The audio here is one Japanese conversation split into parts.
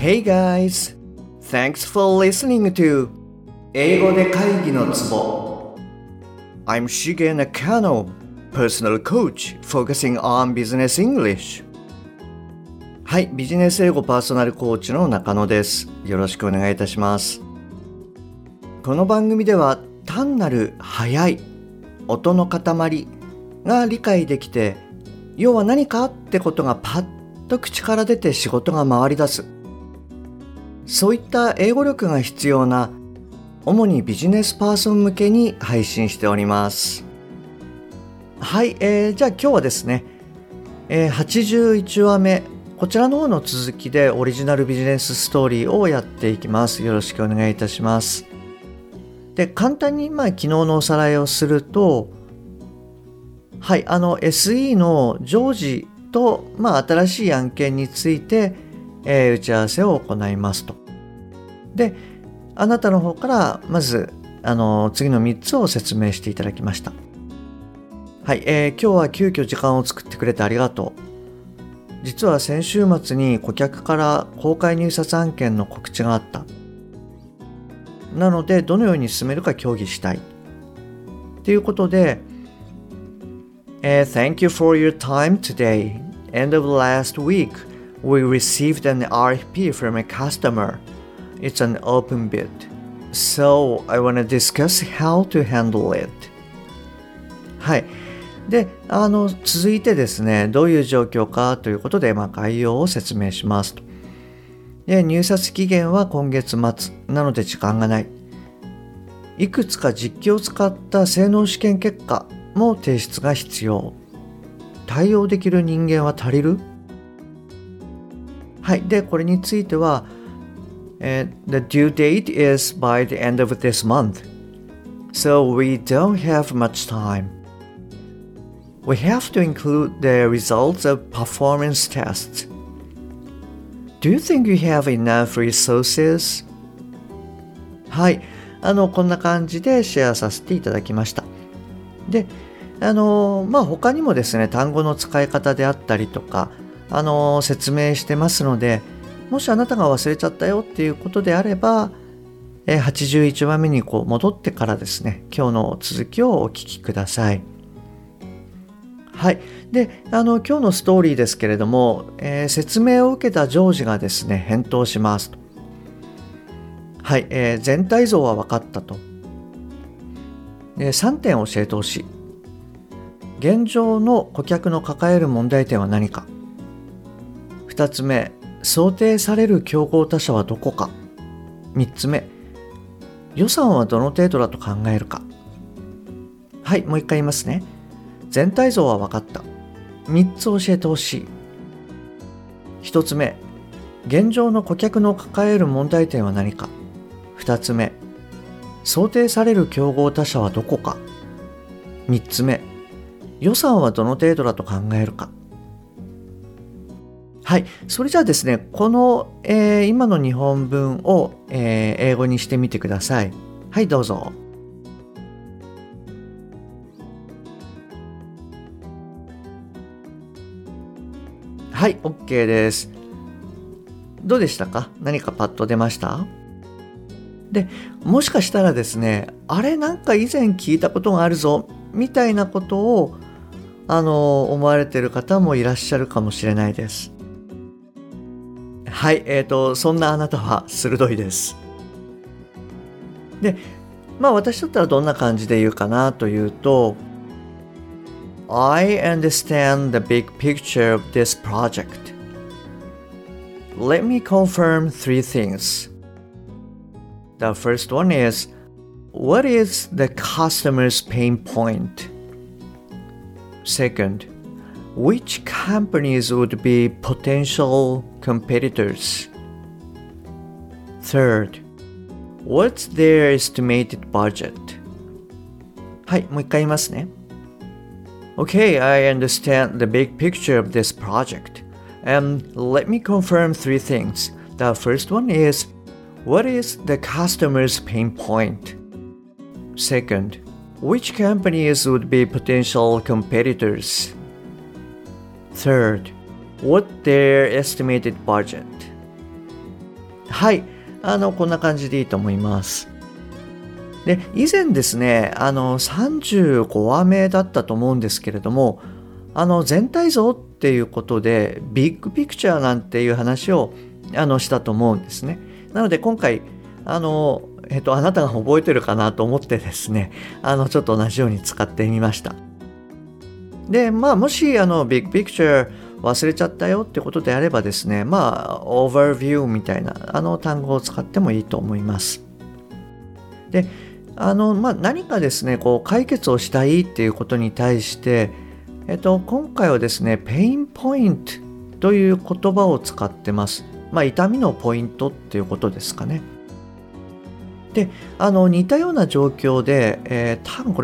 Hey guys! Thanks for listening to 英語で会議のツボ I'm Shige Nakano, personal coach focusing on business English. はい、ビジネス英語パーソナルコーチの中野です。よろしくお願いいたします。この番組では単なる速い音の塊が理解できて、要は何かってことがパッと口から出て仕事が回り出す。そういった英語力が必要な主にビジネスパーソン向けに配信しております。はい、じゃあ今日はですね、81話目、こちらの方の続きでオリジナルビジネスストーリーをやっていきます。よろしくお願いいたします。で、簡単に昨日のおさらいをすると、はい、SE の常時と、新しい案件について、打ち合わせを行いますと。で、あなたの方からまず次の3つを説明していただきました。はい、今日は急遽時間を作ってくれてありがとう。実は先週末に顧客から公開入札案件の告知があった。なのでどのように進めるか協議したい。ということで、Thank you for your time today. End of last week, we received an RFP from a customer.It's an open bid. So, I want to discuss how to handle it. はい。で、続いてですね、どういう状況かということで、概要を説明しますと。で、入札期限は今月末なので時間がない。いくつか実機を使った性能試験結果も提出が必要。対応できる人間は足りる？はい。で、これについては、The due date is by the end of this month, so we don't have much time. We have to include the results of performance tests. Do you think you have enough resources? はい、こんな感じでシェアさせていただきました。で、他にもですね、単語の使い方であったりとか、説明してますので、もしあなたが忘れちゃったよっていうことであれば、81話目に戻ってからですね、今日の続きをお聞きください。はい。で、今日のストーリーですけれども、説明を受けたジョージがですね、返答しますと。はい。全体像は分かったと。3点教えてほしい。現状の顧客の抱える問題点は何か。2つ目、想定される競合他社はどこか。3つ目、予算はどの程度だと考えるか。はい、もう一回言いますね。全体像は分かった。3つ教えてほしい。1つ目、現状の顧客の抱える問題点は何か。2つ目、想定される競合他社はどこか。3つ目、予算はどの程度だと考えるか。はい。それじゃあですね、この、今の日本文を、英語にしてみてください。はい、どうぞ。はい、OK です。どうでしたか？何かパッと出ました？で、もしかしたらですね、あれなんか以前聞いたことがあるぞ、みたいなことを、思われている方もいらっしゃるかもしれないです。はい、そんなあなたは鋭いです。で、私だったらどんな感じで言うかなというと、I understand the big picture of this project. Let me confirm three things. The first one is, what is the customer's pain point? Second, which companies would be potential competitors? Third, what's their estimated budget? はい、もう一回言いますね。Okay, I understand the big picture of this project. Let me confirm three things. The first one is, what is the customer's pain point? Second, which companies would be potential competitors? Third, what their estimated budget? はい、こんな感じでいいと思います。で、以前ですね、35話目だったと思うんですけれども、全体像っていうことで、ビッグピクチャーなんていう話を、したと思うんですね。なので今回、あなたが覚えてるかなと思ってですね、ちょっと同じように使ってみました。で、もし、ビッグピクチャー忘れちゃったよってことであればですね、オーバービューみたいな、単語を使ってもいいと思います。で、何かですね、こう、解決をしたいっていうことに対して、今回はですね、ペインポイントという言葉を使ってます。痛みのポイントっていうことですかね。で、似たような状況で、多分これ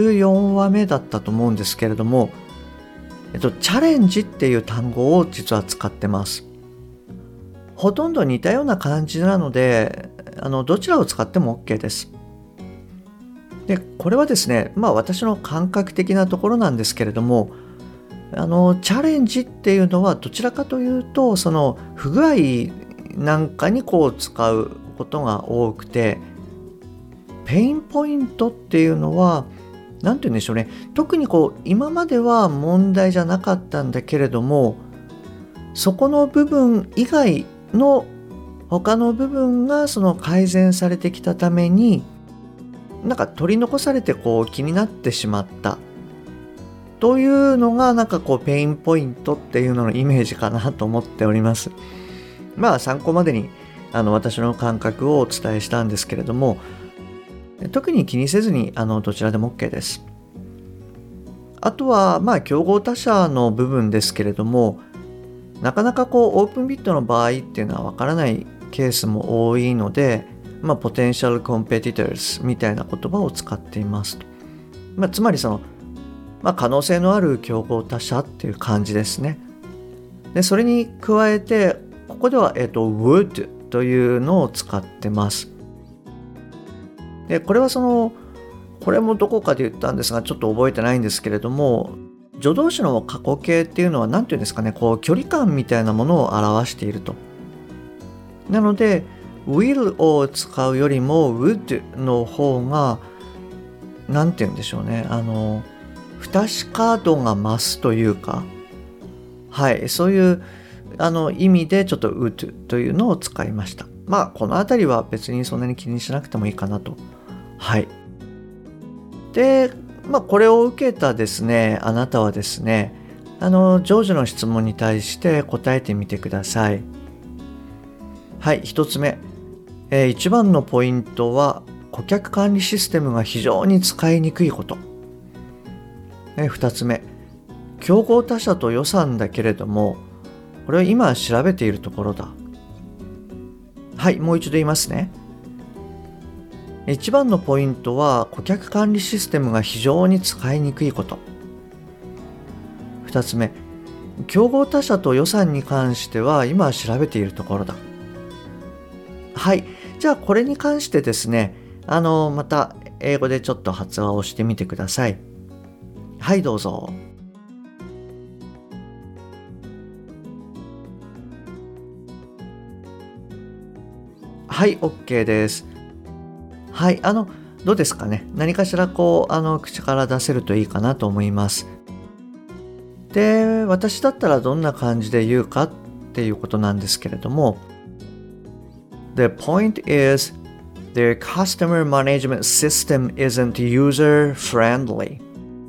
54話目だったと思うんですけれども、チャレンジっていう単語を実は使ってます。ほとんど似たような感じなので、どちらを使っても OK です。で、これはですね、私の感覚的なところなんですけれども、チャレンジっていうのはどちらかというと、その不具合なんかにこう使うことが多くて、ペインポイントっていうのは、なんて言うんでしょうね、特にこう今までは問題じゃなかったんだけれども、そこの部分以外の他の部分がその改善されてきたために、なんか取り残されてこう気になってしまったというのがなんかこうペインポイントっていうののイメージかなと思っております。参考までに私の感覚をお伝えしたんですけれども、特に気にせずにどちらでも OK です。あとは競合他社の部分ですけれども、なかなかこうオープンビットの場合っていうのはわからないケースも多いので、ポテンシャルコンペティターズみたいな言葉を使っていますと。つまりその、可能性のある競合他社っていう感じですね。で、それに加えて、ここでは、would というのを使ってます。で、これはこれもどこかで言ったんですが、ちょっと覚えてないんですけれども、助動詞の過去形っていうのは何て言うんですかね、こう距離感みたいなものを表していると。なので、will を使うよりも would の方が、なんて言うんでしょうね、不確か度が増すというか、はい、そういう意味でちょっと would というのを使いました。このあたりは別にそんなに気にしなくてもいいかなと。はい。で、これを受けたですね、あなたはですね、ジョージの質問に対して答えてみてください。はい、一つ目。一番のポイントは、顧客管理システムが非常に使いにくいこと。二つ目。競合他社と予算だけれども、これは今調べているところだ。はい、もう一度言いますね。一番のポイントは顧客管理システムが非常に使いにくいこと。二つ目、競合他社と予算に関しては今調べているところだ。はい、じゃあこれに関してですね、また英語でちょっと発話をしてみてください。はい、どうぞ。はい、OK です。はい、どうですかね。何かしらこう、口から出せるといいかなと思います。で、私だったらどんな感じで言うかっていうことなんですけれども、The point is, their customer management system isn't user-friendly.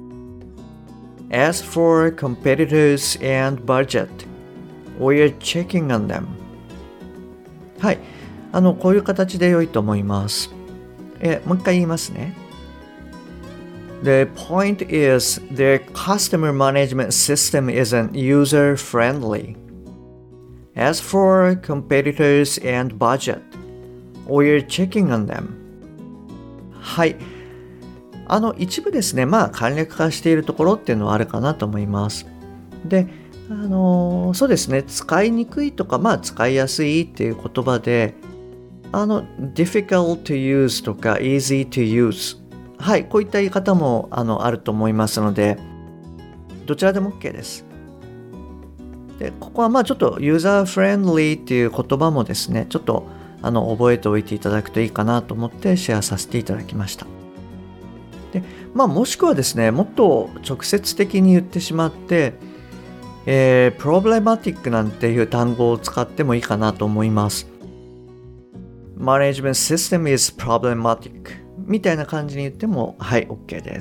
As for competitors and budget, we're checking on them. はい、こういう形で良いと思います。もう一回言いますね。The point is, their customer management system isn't user-friendly. As for competitors and budget, we're checking on them. はい。一部ですね、簡略化しているところっていうのはあるかなと思います。で、そうですね、使いにくいとか、使いやすいっていう言葉で、difficult to use とか easy to use。はい、こういった言い方もあると思いますので、どちらでも OK です。で、ここはちょっとユーザーフレンドリーっていう言葉もですね、ちょっと覚えておいていただくといいかなと思ってシェアさせていただきました。で、もしくはですね、もっと直接的に言ってしまって、problematic なんていう単語を使ってもいいかなと思います。Management system is problematic みたいな感じに言っても、はい、OK です。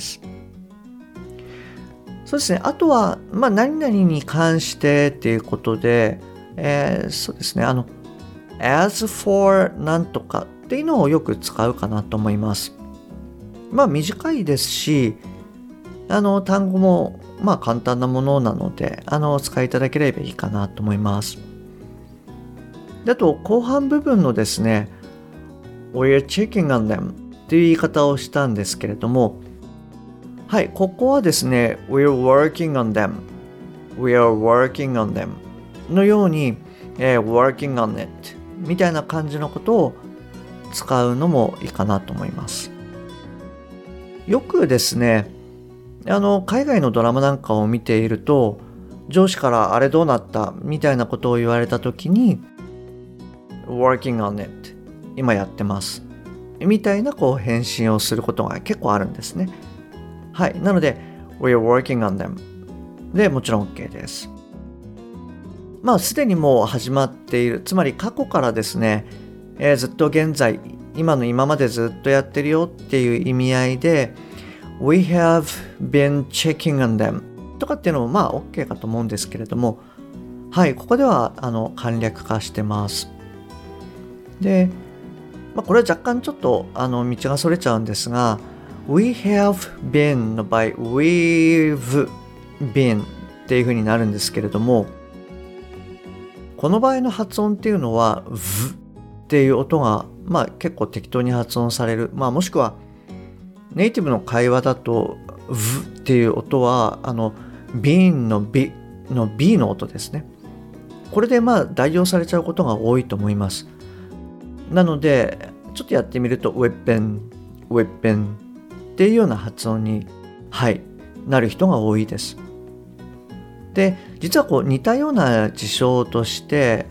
そうですね。あとは、何々に関してっていうことで、そうですね。as for なんとかっていうのをよく使うかなと思います。短いですし、単語も、簡単なものなので、お使いいただければいいかなと思います。で、あと、後半部分のですね、we're checking on them っていう言い方をしたんですけれども、はい、ここはですね、we're working on them、we're working on them のように、working on it みたいな感じのことを使うのもいいかなと思います。よくですね、海外のドラマなんかを見ていると、上司からあれどうなったみたいなことを言われたときに、working on it 今やってますみたいな返信をすることが結構あるんですね。はい。なので、we're working on them でもちろん OK です。すでにもう始まっている、つまり過去からですね、ずっと現在、今までずっとやってるよっていう意味合いで、We have been checking on them とかっていうのもOK かと思うんですけれども、はい、ここでは簡略化してます。で、これは若干ちょっと道がそれちゃうんですが、We have been の場合、We've been っていう風になるんですけれども、この場合の発音っていうのは V っていう音が結構適当に発音される。もしくはネイティブの会話だと V っていう音はbeen の B の B の音ですね。これで代用されちゃうことが多いと思います。なのでちょっとやってみると We've been っていうような発音に、はい、なる人が多いです。で、実は似たような事象として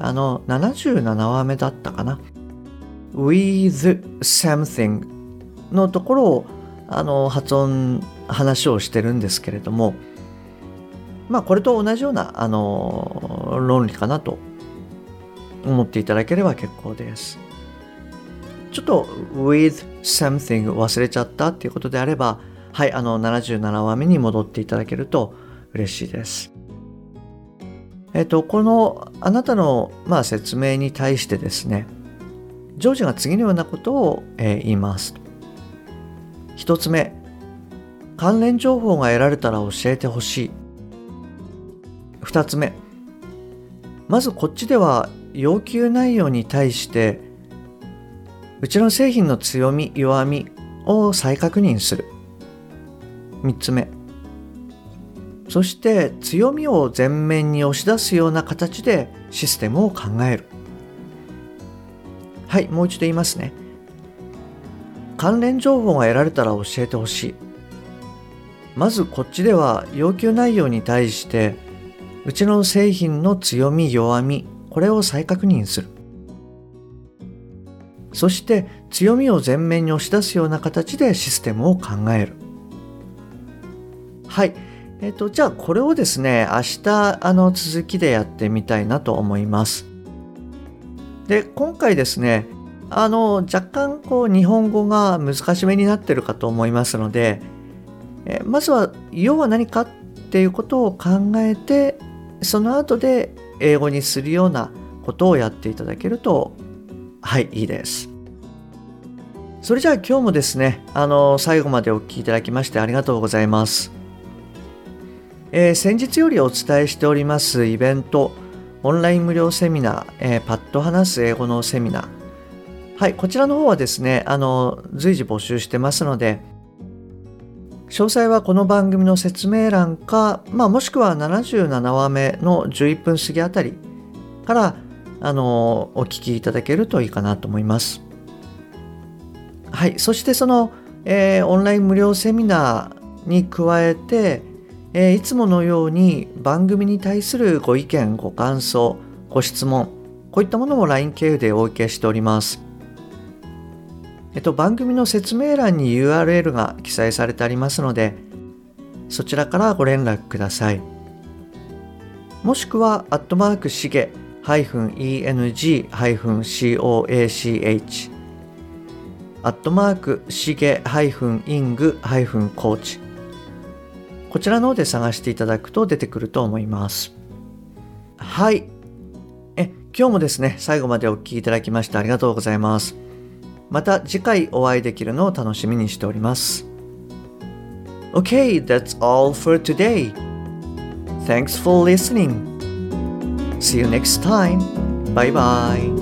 77話目だったかな、with something のところを話をしてるんですけれども、これと同じような論理かなと思っていただければ結構です。ちょっと with something 忘れちゃったっていうことであれば、はい、77話目に戻っていただけると嬉しいです。このあなたの説明に対してですね、ジョージが次のようなことを、言います。一つ目、関連情報が得られたら教えてほしい。二つ目、まずこっちでは要求内容に対してうちの製品の強み弱みを再確認する。三つ目、そして強みを前面に押し出すような形でシステムを考える。はい、もう一度言いますね。関連情報が得られたら教えてほしい。まずこっちでは要求内容に対してうちの製品の強み弱み、これを再確認する。そして強みを前面に押し出すような形でシステムを考える。はい。じゃあこれをですね、明日続きでやってみたいなと思います。で、今回ですね、若干日本語が難しめになってるかと思いますので、まずは要は何かっていうことを考えて、その後で英語にするようなことをやっていただけると、はい、いいです。それじゃあ今日もですね、最後までお聞きいただきましてありがとうございます。先日よりお伝えしておりますイベント、オンライン無料セミナー、パッと話す英語のセミナー。はい、こちらの方はですね、随時募集してますので、詳細はこの番組の説明欄か、もしくは77話目の11分過ぎあたりから、お聞きいただけるといいかなと思います。はい、そしてその、オンライン無料セミナーに加えて、いつものように番組に対するご意見、ご感想、ご質問、 こういったものも LINE 経由でお受けしております。番組の説明欄に URL が記載されてありますので、そちらからご連絡ください。もしくは、しげ-eng-coach、しげ-ing-coach、こちらの方で探していただくと出てくると思います。はい。今日もですね、最後までお聞きいただきましてありがとうございます。また次回お会いできるのを楽しみにしております。Okay, that's all for today. Thanks for listening. See you next time. Bye bye.